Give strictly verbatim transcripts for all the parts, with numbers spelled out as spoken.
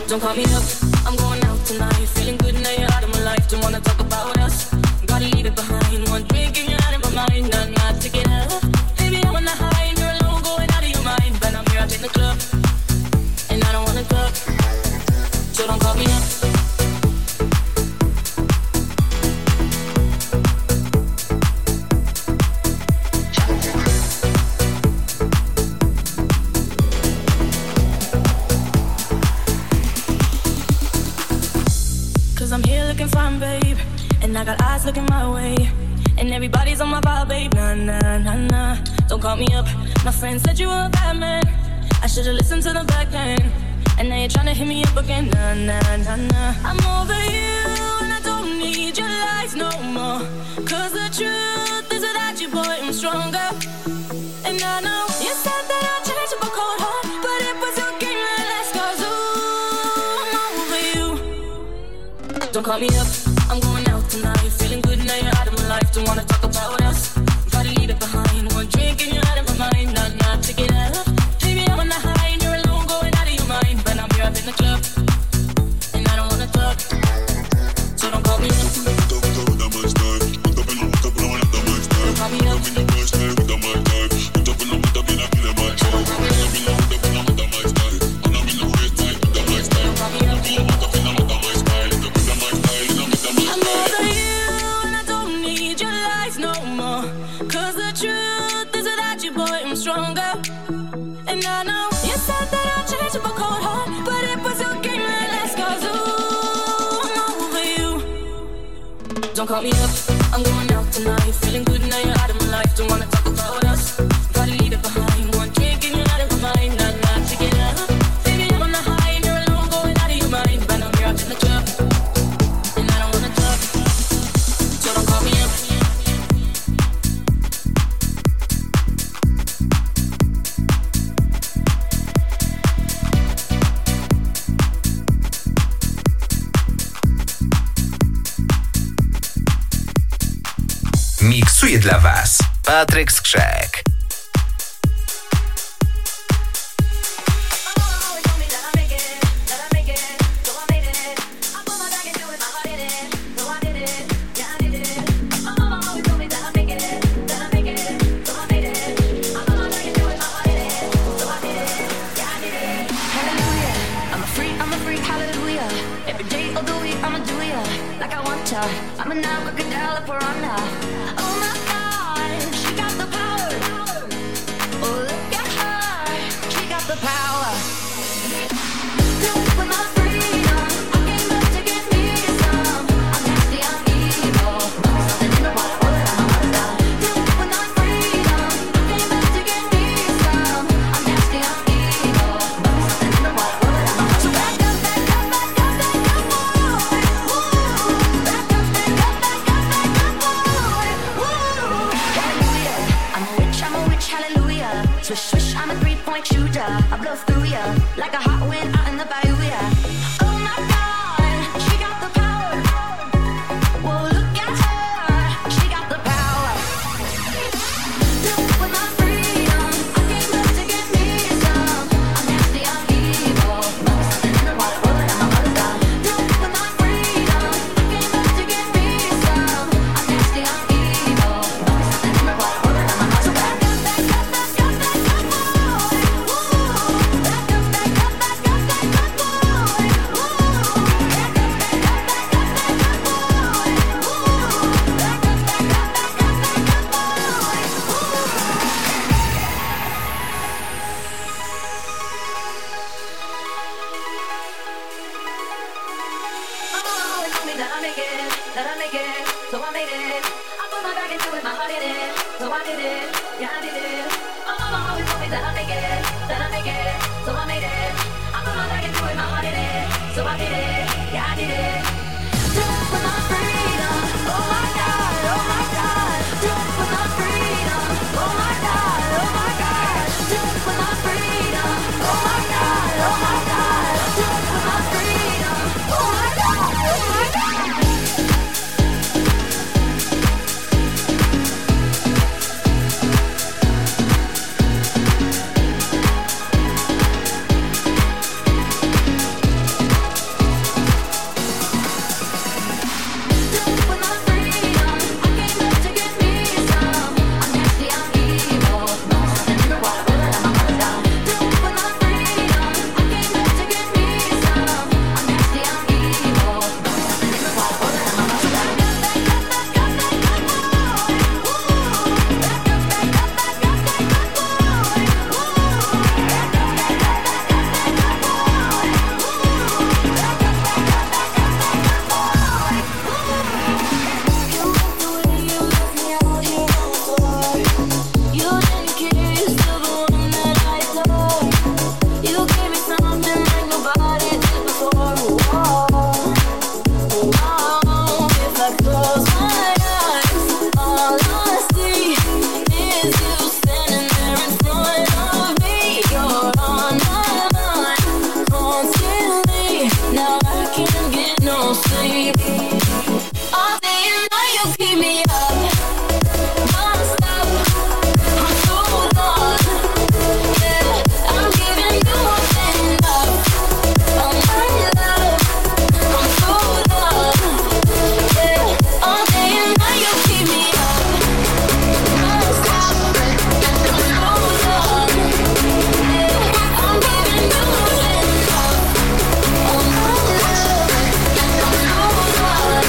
Don't call me up, I'm going out tonight. Feeling good now you're out of my life. Don't wanna talk about us, gotta leave it behind. One drink and you're out of my mind, not not to get up. Baby, I'm on the high and you're alone, going out of your mind. But I'm here up in the club, and I don't wanna talk. So don't call me up. Fine, babe, and I got eyes looking my way, and everybody's on my vibe, babe. Nah, nah, nah, nah. Don't call me up. My friend said you were a bad man. I should've listened to the back then, and now you're trying to hit me up again. Nah, nah, nah, nah. I'm over you, and I don't need your lies no more. Cause the truth is without you, boy, I'm stronger. And I know you said that I'd change up a cold heart, but it was your game that last. Cause ooh, I'm over you. Don't call me up, I'm going out tonight. Feeling good now you're out of my life. Don't wanna talk about us, gotta leave it behind. One drink and you're out of my mind, not not to get up. Baby, I'm on the high and you're alone, going out of your mind. But I'm here up in the club, and I don't wanna talk. So don't call me up. Don't call me up. Stronger, and I know you said that I'd change up a cold heart, but it was your game that last. Cause ooh, I'm over you. Don't call me up, I'm going out tonight. Feeling good now you're out of my life. Don't wanna talk about us, gotta leave it behind. One drink and you're out of my mind, not not to get up. Baby, I'm on the high and you're alone, going out of your mind. But I'm here up in the club, and I don't wanna talk. So don't call me up. Miksuje dla Was Patryk Skrzek. I'm a now crocodile, a piranha. Oh my God, she got the power. Oh, look at her, she got the power. With my freedom, I came up to get me some. I'm nasty, I'm evil. Something in the water, water, I'm a monster. With my freedom, I came up to get me some. I'm nasty, I'm evil. Something in the water, water, I'm a monster. So back up, back up, back up, back up, boy. Woo. Back up, back up, back up, back up, boy. Woo. Hallelujah, I'm a witch, I'm a witch, hallelujah. Swish, swish, I'm a three-point shooter. I blow through ya like a hot wind out in the bayou, yeah. Oh my God, she got the power. Whoa, look at her, she got the power. With my freedom, I came up to get me some. I'm nasty, I'm evil. Something in the water, water, I'm a monster. With my freedom, I came up to get me some. I'm nasty, I'm evil. Something in the water, water, I'm a monster. Back up, back up, back up, back up, boy. Woo. Back up, back up, back up, back up, boy. Woo. Back up, back up, back up, back up, boy. Woo. Back up, back up, back up, back up, boy. Oh, it's only that I make it, that I make it, so I made it. I put my back into it, my heart in it, so I did it, yeah I did it. Oh, it's only that I make it, that I make it, so I made it. I put my back into it, my heart in it, so I did it, yeah I did it. Do it for my freedom, oh my God, oh my God. Do it for my freedom, oh my God, oh my God. Do it for my freedom, oh my God, oh my God. Do it for my freedom, oh my God, oh my God. sleep. All day and night you keep me up, non-stop. I'm so done. Yeah, I'm giving you more than enough. Oh my love, I'm so done. Yeah, all day and night you keep me up, non-stop. I'm so done. Yeah, I'm giving you more than enough. Oh my love, I'm so done.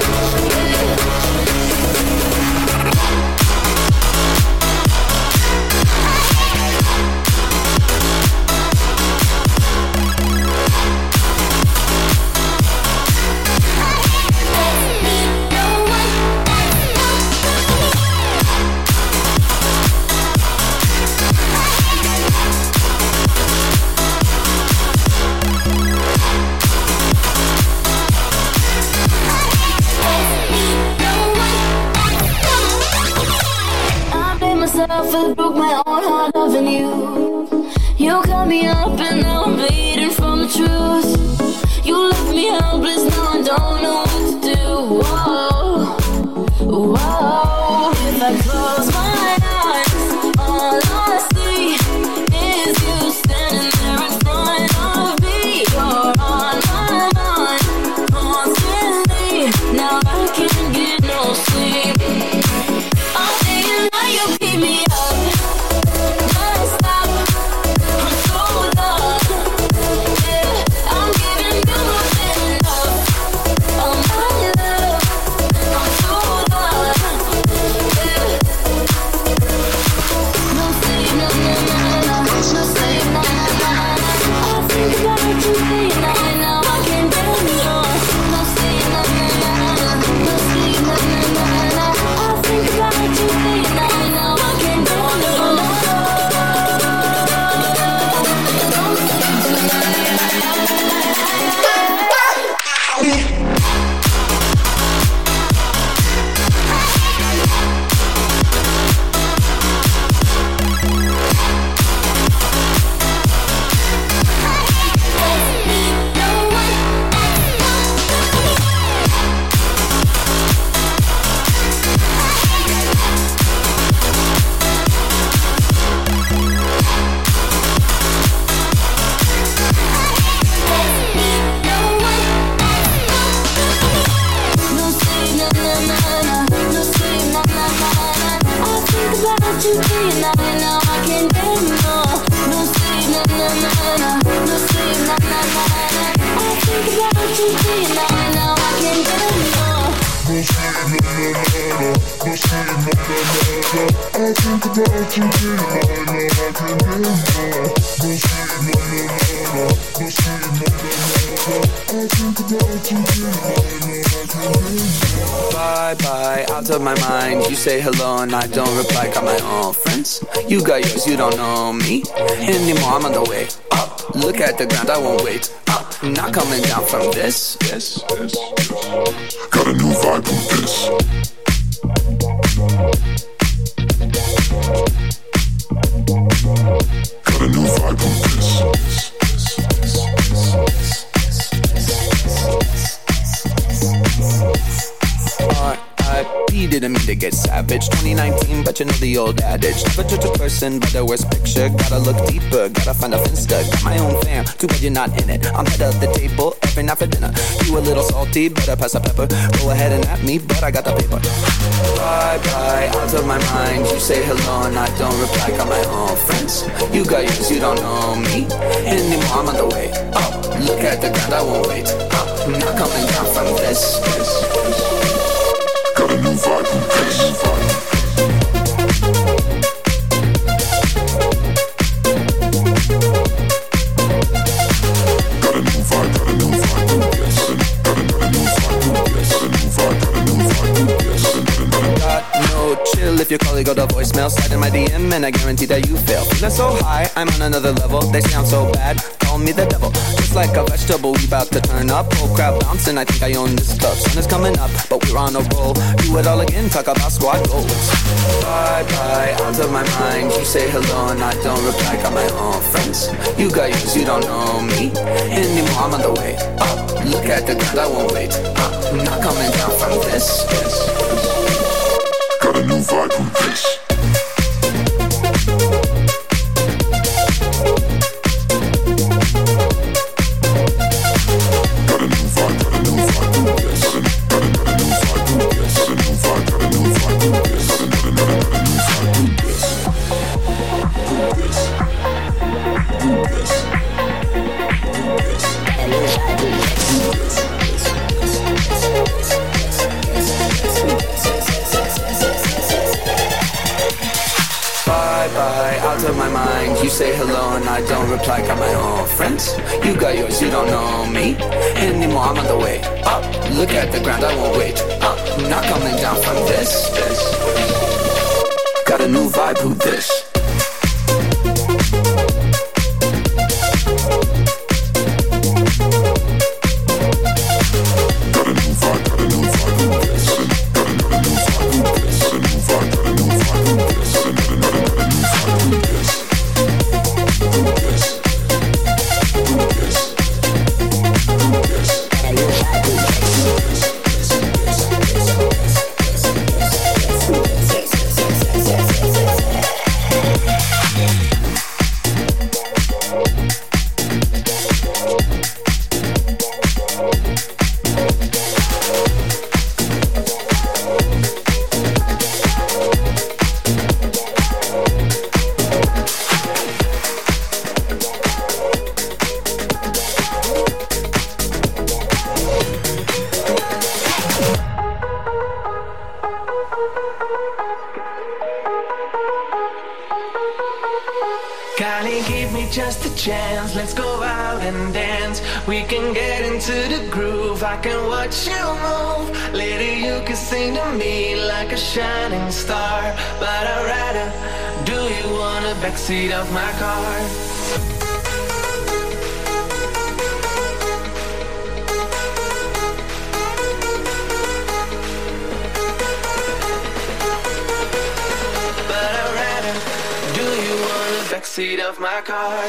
I blame myself and broke my own heart loving you. You cut me up and now I'm bleeding from the truth. You left me helpless, now I don't know what to do. Whoa, whoa. If I close my eyes, all I see is you standing there in front of me. You're on my mind constantly. Now I can't get no sleep. All day and night you keep me up, non-stop. I'm so done. Yeah, I'm giving you more than enough. Oh my love, I'm so done. Yeah. No sleep, no, no, no, no, no sleep, no, no, no, no. I think about you day and night, now I can't get no. No sleep, no, no, no, no, no sleep, no, no, no, no. I think about you day and night, now I can't get no. Don't sleep tonight. No sleep, no, no, no, no, no sleep, no, no, no, no. I think about you day and night, now I can't get no. No sleep, no, no, no, no, no sleep, no, no, no, no. I think about you day and night, now I can't get no. No sleep, no, no, no, no, no sleep, no, no, no, no. I think about you day and night, now I can't get no. No sleep, no, no, no, no, no sleep, no, no, no, no. I think about you day and night, now I can't get no. Bye bye, out of my mind. You say hello and I don't reply. Got my own friends. You got yours, you don't know me anymore. I'm on the way up. Look at the ground, I won't wait up. Not coming down from this. Yes, yes, yes. Got a new vibe with this. Got a new vibe with this. R I P didn't mean to get savage. twenty nineteen, but you know the old adage. Never judge a person by the worst picture. Gotta look deeper, gotta find a finsta. Got my own fam, too bad you're not in it. I'm head of the table every night for dinner. You a little salty, better pass the pepper. Go ahead and at me, but I got the paper. Bye bye, out of my mind. You say hello and I don't reply. Got my own friends. You got yours, you don't know me anymore. I'm on the way up. Look at the ground, I won't wait up. Not coming down from this. this, this. Got a new vibe with this. Got a new vibe, got a new vibe with this. Got a, got a new vibe with this. Got a new vibe, got a new vibe with this. Got no chill if your colleague got a voicemail. Slide in my D M and I guarantee that you fail. Feeling so high, I'm on another level. They sound so bad. call me the devil. Just like a vegetable, we bout to turn up. Whole crowd bouncing, I think I own this club. Sun is coming up, but we're on a roll. Do it all again, talk about squad goals. Bye bye, out of my mind. You say hello and I don't reply. Got my own friends. You got yours, you don't know me anymore. I'm on the way up. Look at the ground, I won't wait up. I'm not coming down from this. this. Got a new vibe from this. You say hello and I don't reply. Got my own friends. You got yours, you don't know me anymore. I'm on the way up. Look at the ground, I won't wait up. I'm not coming down from this. this. Got a new vibe, who this? Shining star, but I'd rather. Do you want a backseat of my car? But I'd rather. Do you want a backseat of my car?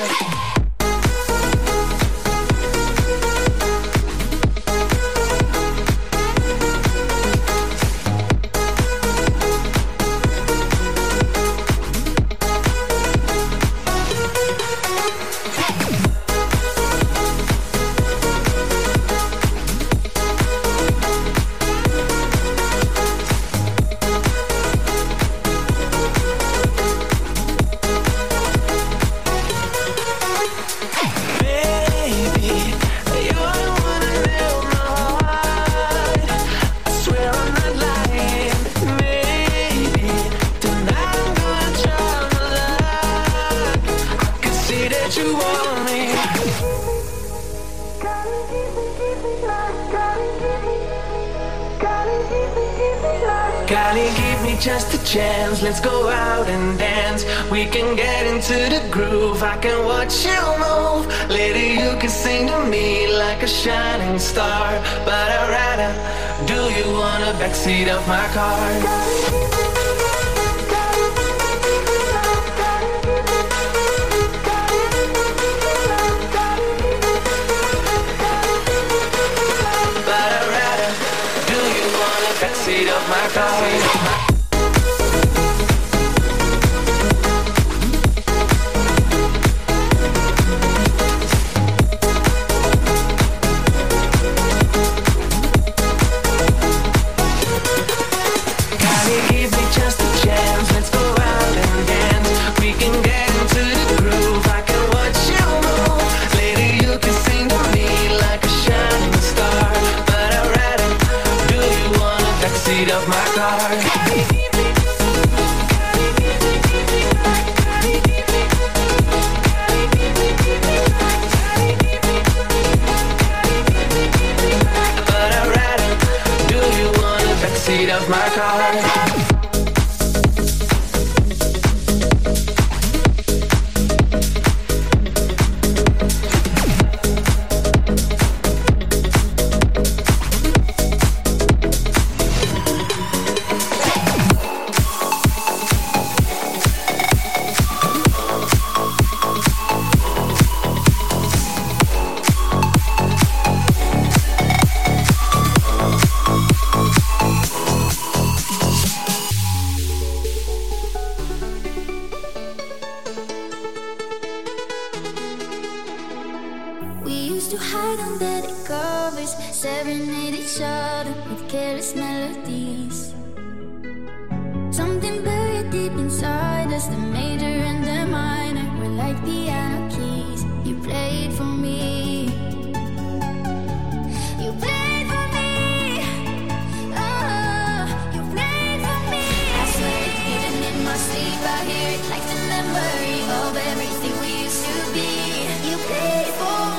Just a chance, let's go out and dance. We can get into the groove, I can watch you move. Later you can sing to me like a shining star. But I'd rather. Do you want a backseat of my car? But I'd rather. Do you want a backseat of my car? Of my car. We used to hide under the covers, serenade each other with careless melodies. Something buried deep inside us, the major and the minor were like piano keys. You played for me. You played for me. Oh, you played for me. I swear it, even in my sleep, I hear it like the memory of everything we used to be. You played for me.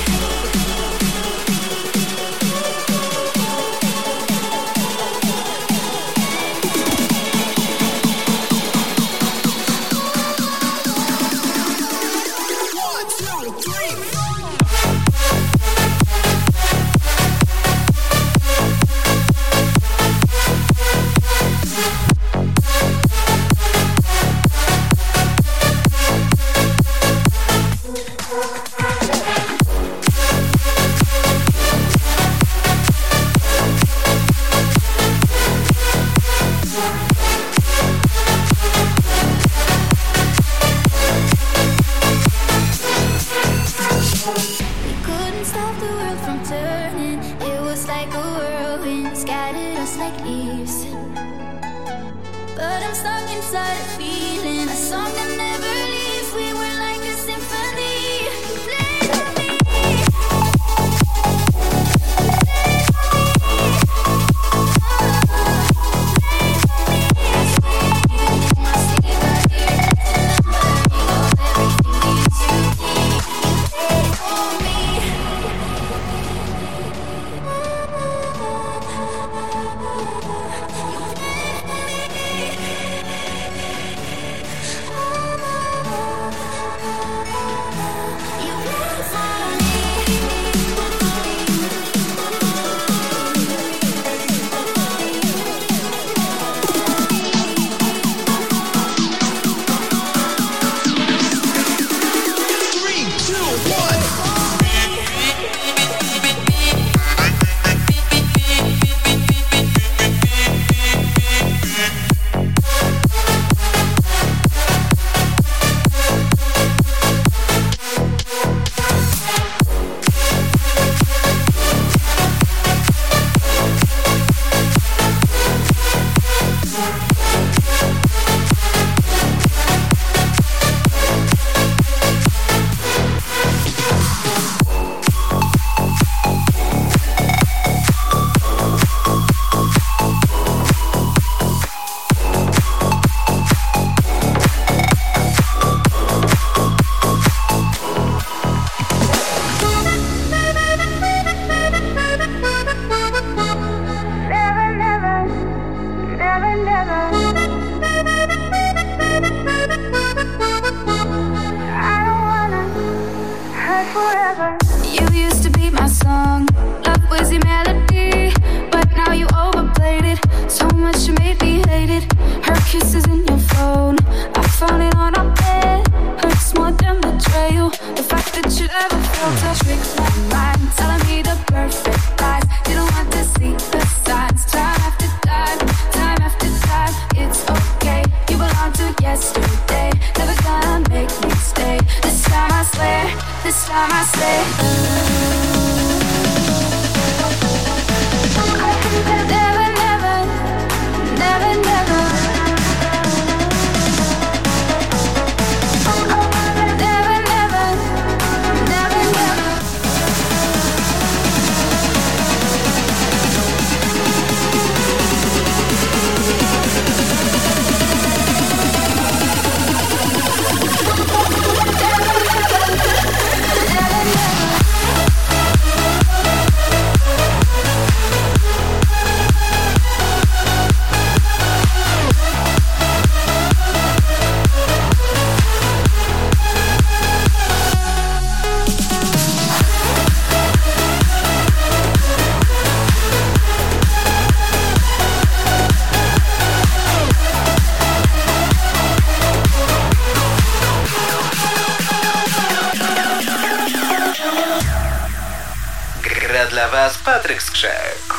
Gra dla Was Patryk Skrzek.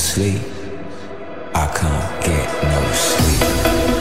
sleep. I can't get no sleep.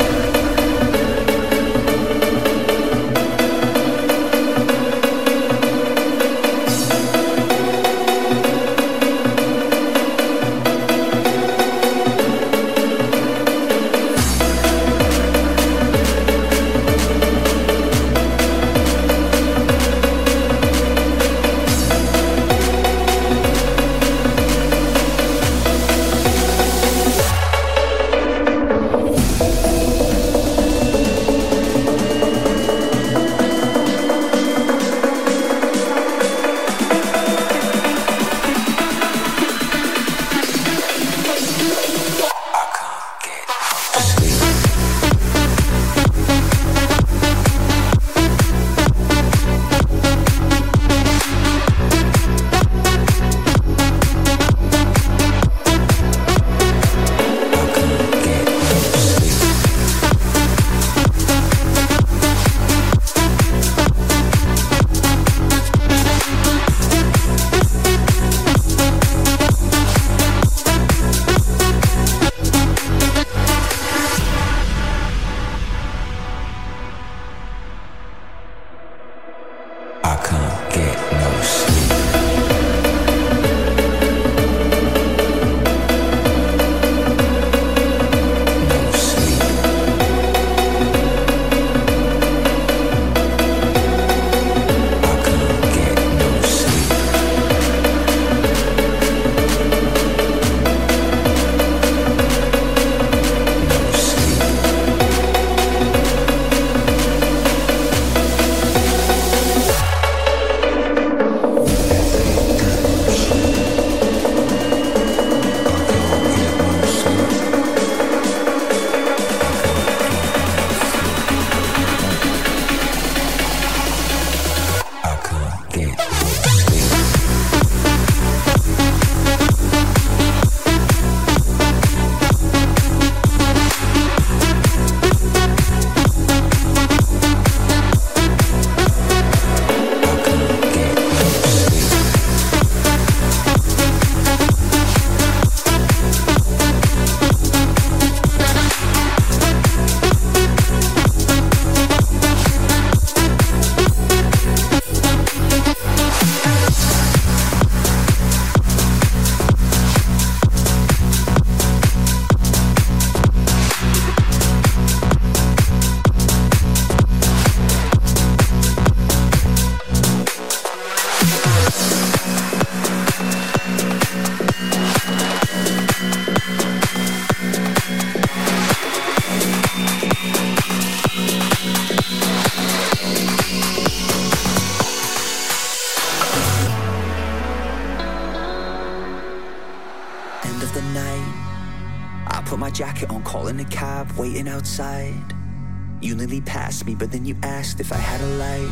Waiting outside, you nearly passed me, but then you asked if I had a light.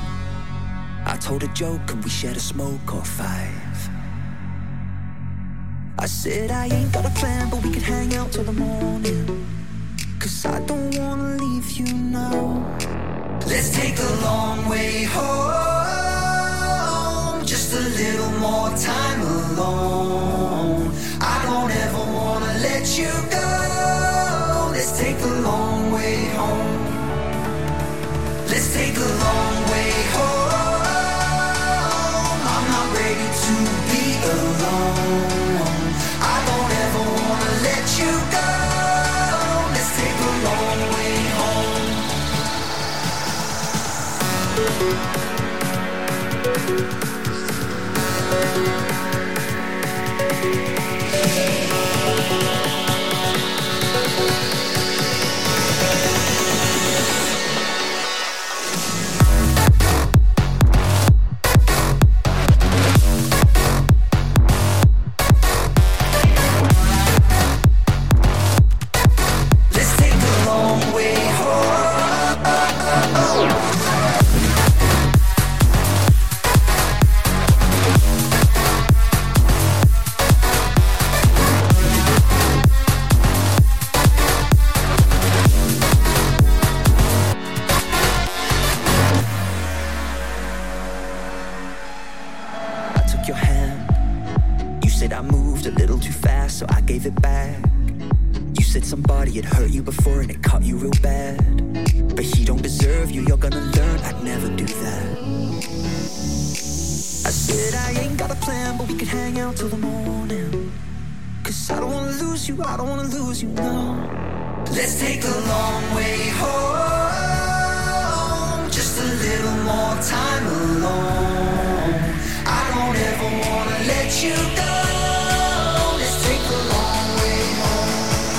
I told a joke and we shared a smoke or five. I said I ain't got a plan, but we could hang out till the morning, 'cause I don't wanna leave you now. Let's take the long way home, just a little more time alone. I don't ever wanna let you go. Let's take the long way home. Let's take the long way home. I'm not ready to be alone. I don't ever wanna let you go. Let's take the long way home. back. You said somebody had hurt you before and it caught you real bad, but he don't deserve you, you're gonna learn I'd never do that. I said I ain't got a plan, but we could hang out till the morning. Cause I don't wanna lose you, I don't wanna lose you, no. Let's take the long way home. Just a little more time alone. I don't ever wanna let you go. Let's take the long way home.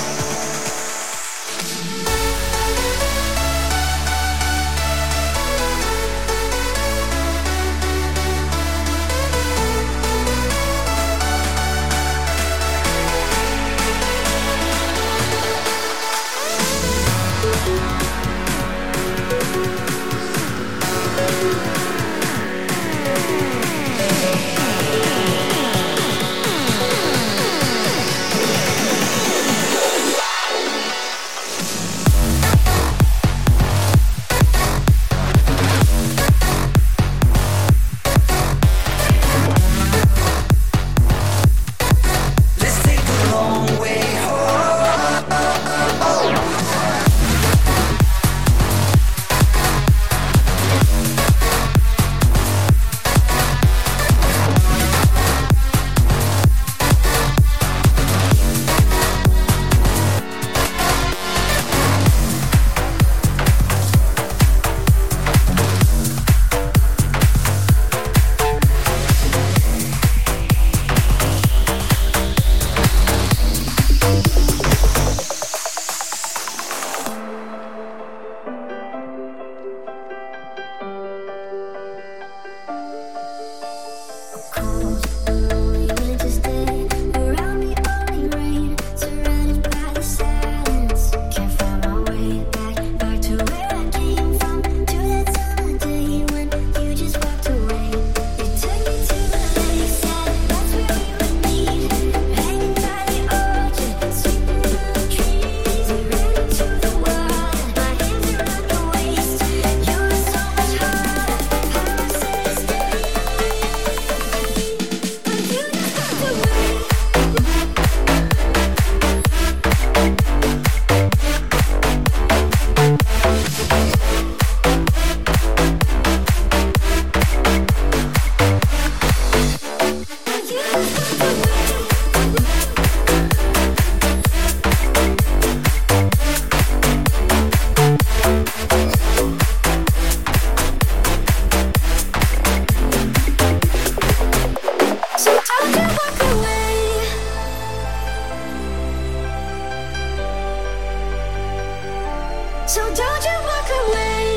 So don't you walk away.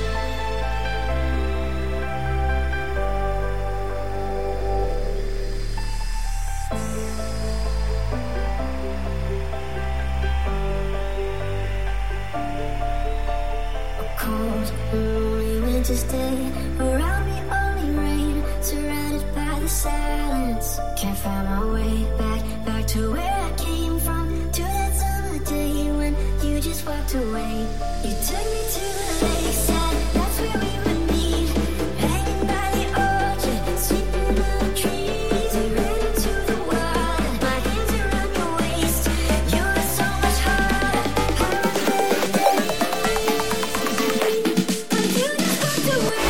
A cold and lonely winter's day. Around me only rain, surrounded by the silence. Can't find my way back, back to where I came from. To that summer day when you just walked away. You took me to the lakeside, that's where we would meet. Hanging by the orchard, sleeping on the trees. We ran into the water, my hands around your waist. You were so much harder, but you just walked away.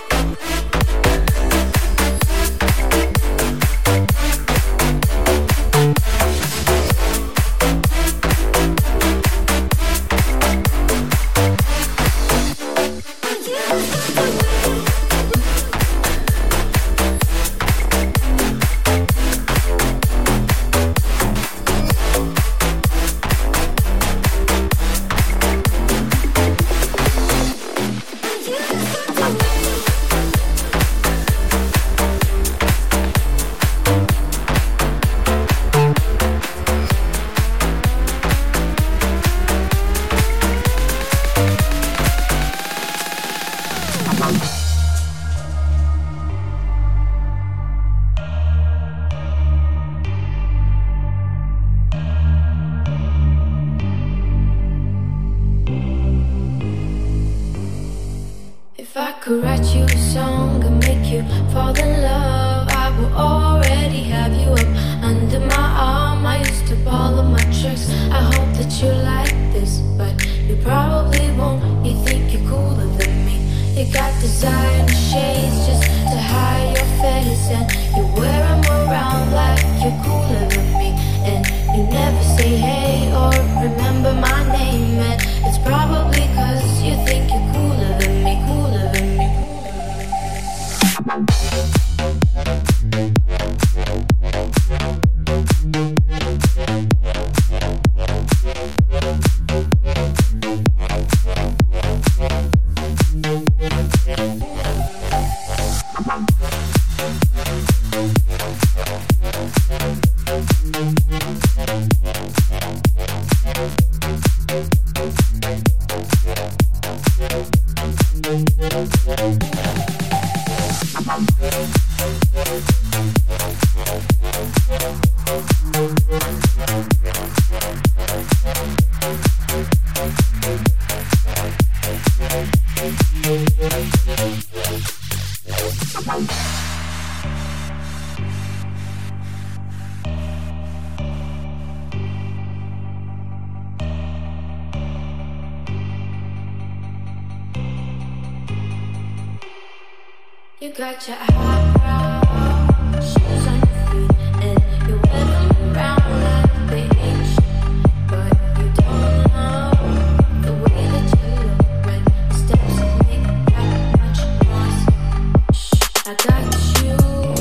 If I could write you a song and make you fall in love, I will already have you up under my arm mom, I used to ball of my tricks. I hope that you like this, but you probably won't. You think you're cooler than me. You got designer shades just to hide your face, and you wear them around like you're cooler than me. And you never say hey or remember my name, and it's probably cause you think you're cooler than me, cooler than me. You got your high shoes on your feet, and you wear them around like they ain't shit. But you don't know the way that you look when the steps make that much noise. Shh, I got you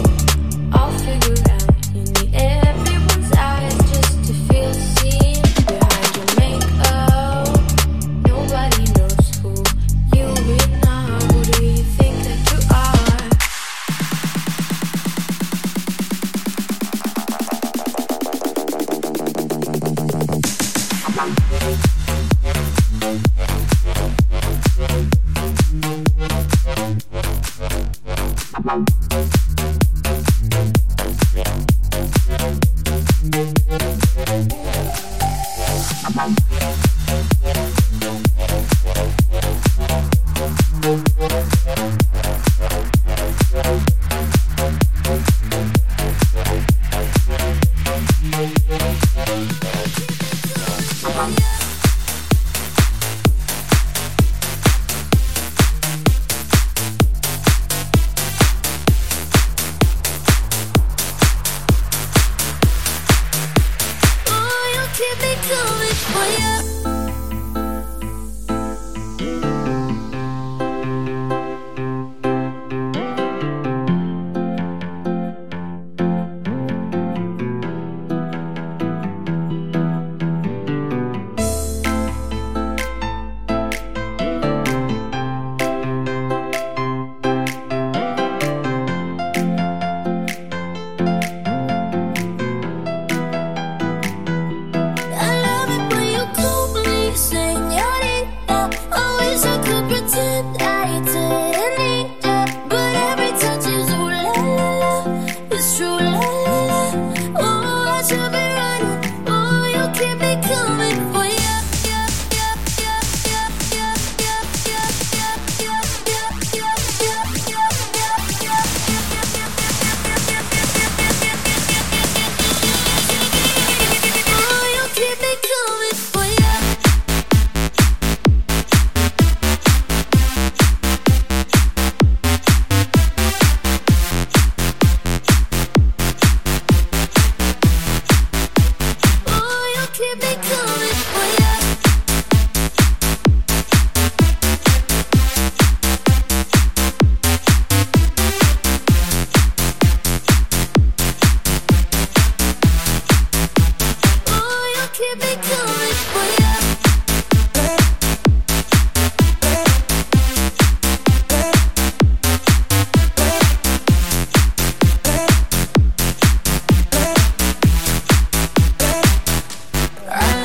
all figured out. You need everyone's eyes just to feel seen. Behind your makeup, nobody knows who you really are. Who do you think that you are? I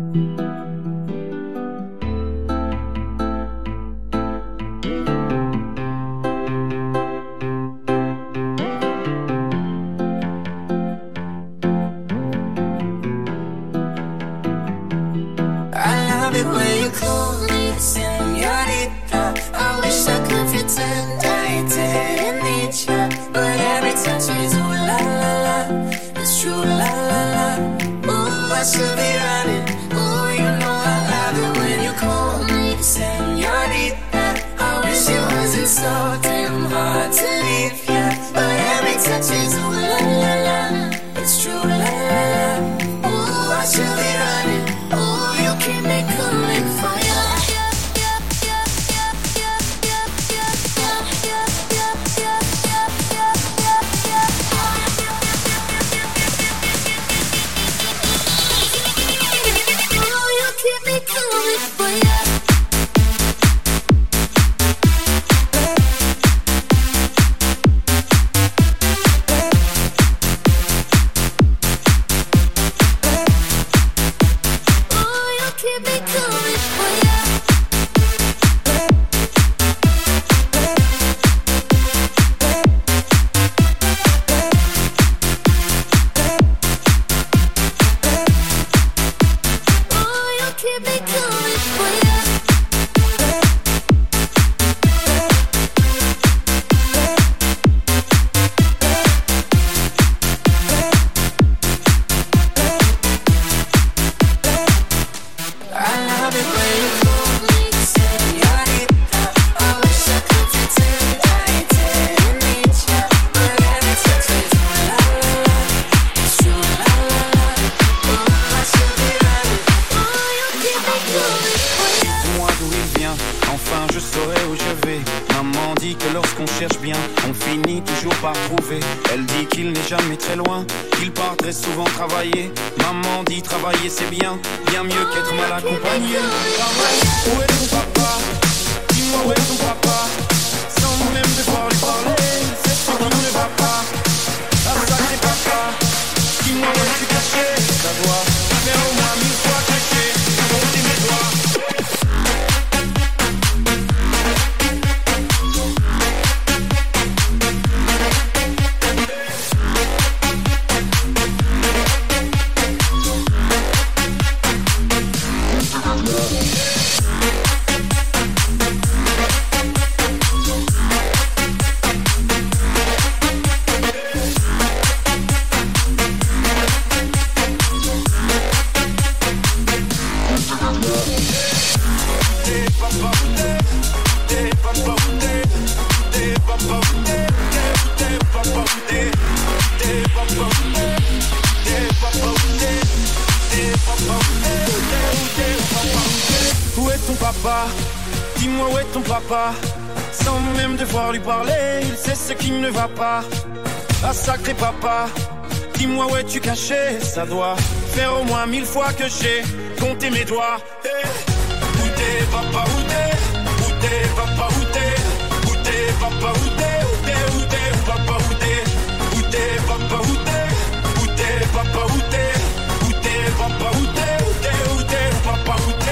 Où est ton papa? Dis-moi où est ton papa? Sans même devoir lui parler, il sait ce qui ne va pas. Ah sacré papa, dis-moi où es-tu caché? Ça doit faire au moins mille fois que j'ai compté mes doigts. Hey. Où t'es papa, où t'es? Où t'es papa, où t'es? Où t'es papa, où t'es? Où t'es, où t'es, où papa, où t'es? Où t'es papa, où t'es? Où t'es papa, où t'es? Où t'es papa, où t'es? Où t'es, où t'es, où papa, où t'es?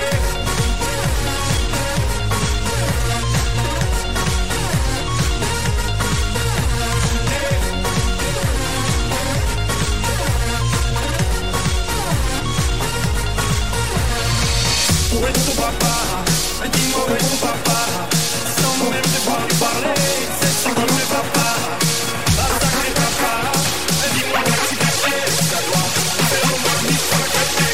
Où est ton papa? Dis-moi où est ton papa? Sans même devoir lui parler, c'est ce qui ne va pas. Ah sacré papa, dis-moi où es-tu caché? Ça doit faire au moins mille fois caché.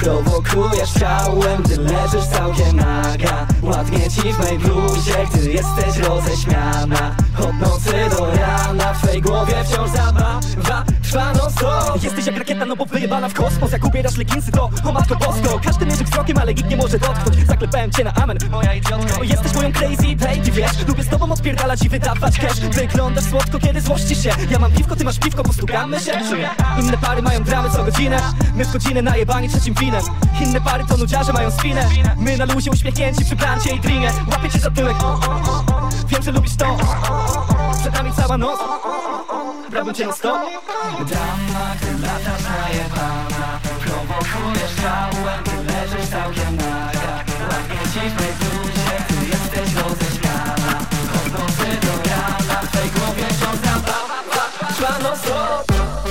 Prowokujesz ciałem, gdy leżysz całkiem naga. Ładnie ci w mej bluzie, gdy jesteś roześmiana. Od nocy do rana w twej głowie wciąż zabawa trwa non stop. Jesteś jak rakieta, no bo wyjebana w kosmos. Jak ubierasz leginsy, to o matko bosko. Każdy mierzy wzrokiem, ale nikt nie może dotknąć. Zaklepałem cię na amen, moja idiotka. Jesteś moją crazy baby, wiesz. Lubię z tobą odpierdalać i wydawać cash. Wyglądasz słodko, kiedy złościsz się. Ja mam piwko, ty masz piwko, postukamy się. Inne pary mają dramy co godzinę. My w godzinę najebani trzecim winem. Inne pary to nudziarze mają spinę. My na luzie uśmiechnięci przy plancie i drinie. Łapię cię za tyłek, wiem, że lubisz to. Przed nami cała noc, brałbym cię na stop. Dama, gdy latasz najebana. Prowokujesz ciałem, gdy leżysz całkiem naga. Ładnie ci w mej bluzie, gdy jesteś roześmiana. Od nocy do rana w twej głowie wciąż zabawa trwa non stop.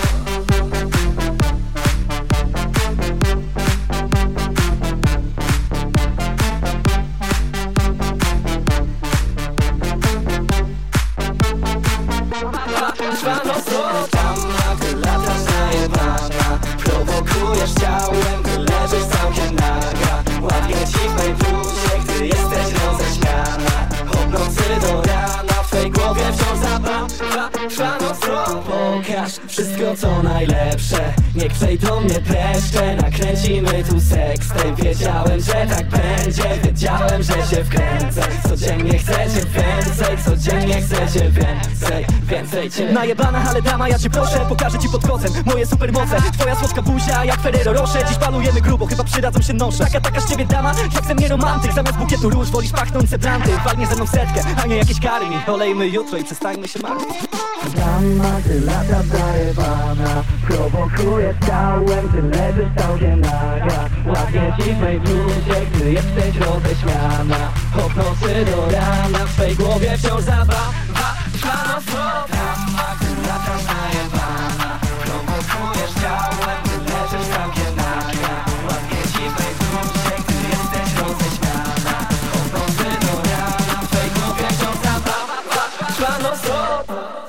Trwa non stop. Dama, gdy latasz najebana. Prowokujesz ciałem, gdy leżysz całkiem naga. Ładnie ci w mej bluzie, gdy jesteś roześmiana. Od nocy do rana w twej głowie wciąż zabawa trwa non stop. Pokaż wszystko co najlepsze, niech przejdą mnie dreszcze. Nakręcimy tu sextape. Wiedziałem, że tak będzie, wiedziałem, że się wkręcę. Codziennie chcecie więcej, codziennie chcecie więcej, więcej cię. Najebana, ale dama, ja cię proszę, pokażę ci pod kocem moje supermoce. Twoja słodka buzia jak Ferrero Rocher. Dziś palujemy grubo, chyba przydadzą się nosze. Taka, taka z ciebie dama, jak ze mnie romantyk. Zamiast bukietu róż wolisz pachnące planty. Walnie ze mną setkę, a nie jakieś kary mi. Olejmy jutro i przestańmy się martwić. Dama, gdy lata zajebana. Prowokujesz ciałem, gdy leżysz całkiem naga. Ładnie ci w mej bluzie, gdy jesteś roześmiana. Od nocy do rana w twej głowie wciąż zabawa trwa non stop. Dama, gdy lata zajebana. Prowokujesz ciałem, gdy leżysz całkiem naga. Ładnie ci w mej bluzie, gdy jesteś roześmiana. Od nocy do rana w twej głowie wciąż zabawa trwa non stop.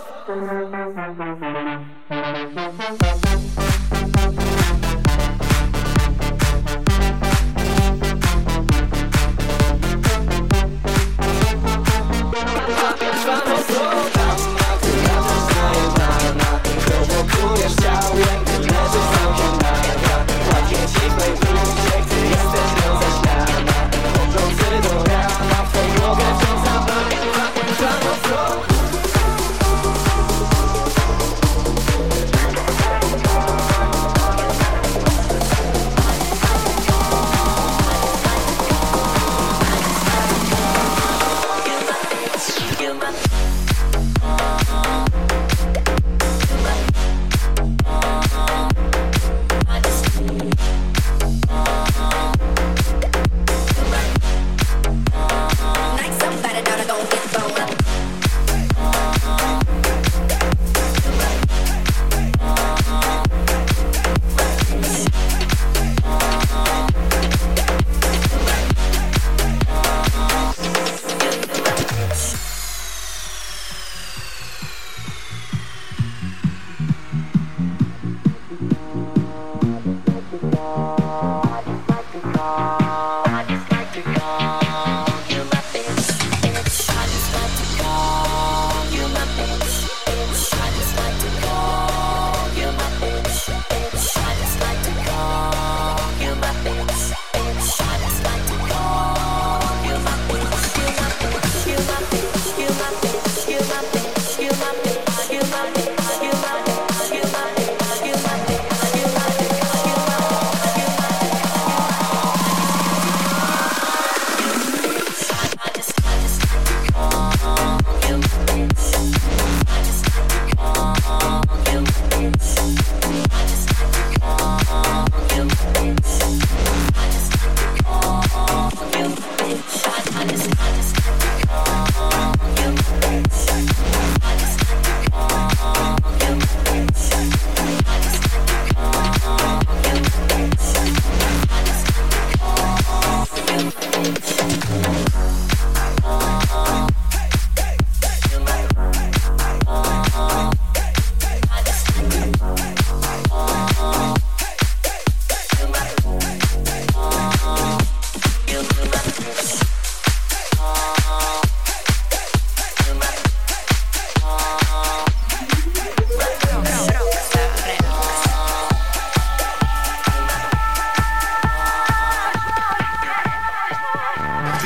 Prowokujesz ciałem, gdy leżysz całkiem naga. Ładnie ci w mej bluzie, gdy jesteś roześmiana. Od nocy do rana w twej głowie wciąż zabawa trwa non stop.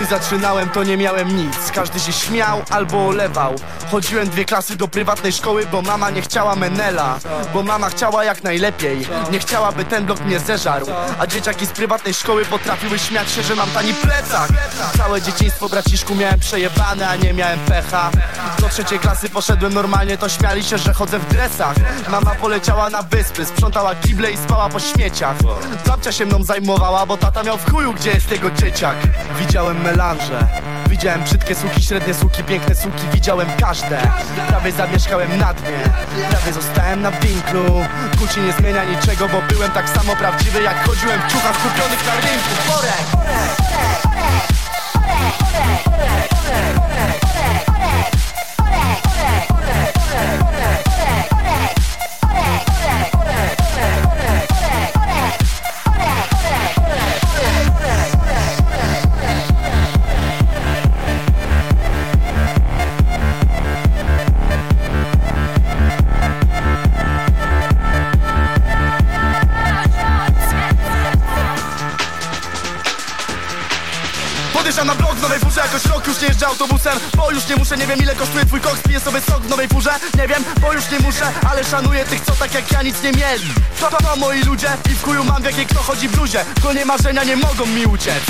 zaczynałem, to nie miałem nic. Każdy się śmiał albo olewał. Chodziłem dwie klasy do prywatnej szkoły, bo mama nie chciała menela. Bo mama chciała jak najlepiej, nie chciała, by ten blok mnie zeżarł. A dzieciaki z prywatnej szkoły potrafiły śmiać się, że mam tani plecak. Całe dzieciństwo, braciszku, miałem przejebane, a nie miałem pecha. Do trzeciej klasy poszedłem normalnie, to śmiali się, że chodzę w dresach. Mama poleciała na wyspy, sprzątała kible i spała po śmieciach. Babcia się mną zajmowała, bo tata miał w chuju, gdzie jest jego dzieciak. Widziałem melanże, widziałem brzydkie suki, średnie suki, piękne suki, widziałem każde. Prawie zamieszkałem na dnie, prawie zostałem na winklu. Gucci nie zmienia niczego, bo byłem tak samo prawdziwy, jak chodziłem w ciuchach kupionych na rynku. Borek! Podjeżdżam na blok w nowej furze, jakoś rok już nie jeżdżę autobusem. Bo już nie muszę, nie wiem ile kosztuje twój koks. Piję sobie sok w nowej furze, nie wiem, bo już nie muszę. Ale szanuję tych, co tak jak ja nic nie mieli. To, to, to moi ludzie i w chuju mam w jakiej kto chodzi w bluzie. Konie marzenia nie mogą mi uciec.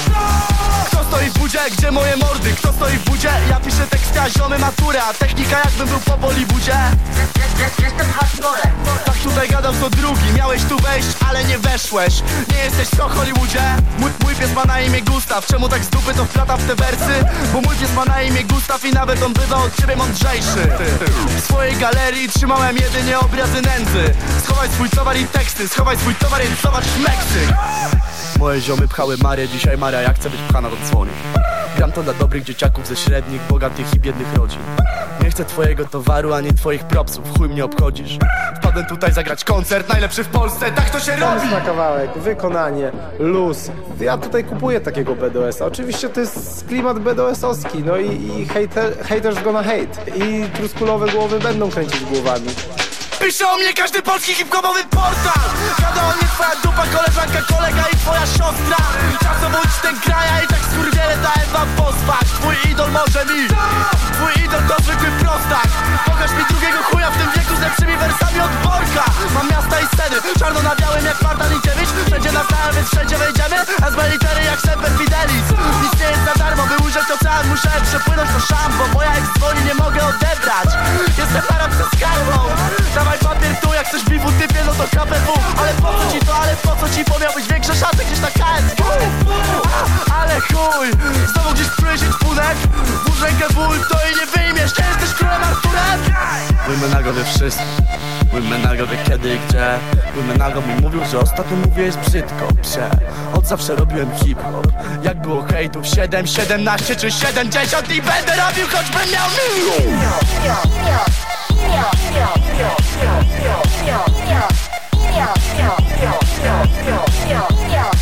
Kto stoi w budzie, gdzie moje mordy? Kto stoi w budzie? Ja piszę teksty, a ziomy maturę. A technika jakbym był po Bollywoodzie. Jestem hardcorem. Tak tutaj gadał co drugi. Miałeś tu wejść, ale nie weszłeś. Nie jesteś w Hollywoodzie. Mój, mój pies ma na imię Gustaw. Czemu tak z dupy to wplata w te wersy? Bo mój pies ma na imię Gustaw i nawet on bywa od ciebie mądrzejszy. W swojej galerii trzymałem jedynie obrazy nędzy. Schowaj swój towar i teksty. Schowaj swój towar i zobacz Meksyk. Moje ziomy pchały Marię, dzisiaj Maria jak chce być pchana to dzwoni. Gram to dla dobrych dzieciaków ze średnich, bogatych i biednych rodzin. Nie chcę twojego towaru, ani twoich propsów, chuj mnie obchodzisz. Wpadłem tutaj zagrać koncert, najlepszy w Polsce, tak to się robi! Pomysł na kawałek, wykonanie, luz. Ja tutaj kupuję takiego B D O S-a. Oczywiście to jest klimat B D O S-owski, no i, i hater, haters gonna hate. I truskulowe głowy będą kręcić głowami. Pisze o mnie każdy polski hip-hopowy portal. Gada o mnie twoja dupa, koleżanka, kolega i twoja siostra. Czasowo idź ten kraja i tak skurwiele dałem wam pospać. Twój idol może mi, twój idol to zwykły prostak. Pokaż mi drugiego chuja w tym wieku z lepszymi wersami od Borka. Mam miasta i sceny, czarno na białym jak Marta Linkiewicz. Wszędzie na stałe, więc wszędzie wejdziemy. A z litery jak Semper Fidelis. Nic nie jest za darmo, by ujrzeć ocean musiałem przepłynąć to szambo. Moja ex dzwoni, nie mogę odebrać. Jestem Arab ze skarbą. Dawaj papier tu, jak chcesz bifu typie, no to K P W. Ale po co ci to, ale po co ci, bo miałbyś większe szanse gdzieś na K S G. Ale chuj, znowu gdzieś pluje się czpunek. Włóż rękę w ul, to i nie wyjmiesz. Nie jesteś królem Arturem? Mój menago wie wszystko. Mój menago wie kiedy i gdzie. Mój menago mi mówił, że ostatnio mówiłeś brzydko, psie. Od zawsze robiłem hip-hop. Jak było hejtów siedem, siedemnaście czy siedemdziesiąt i będę robił, choćbym miał milion. Yeah.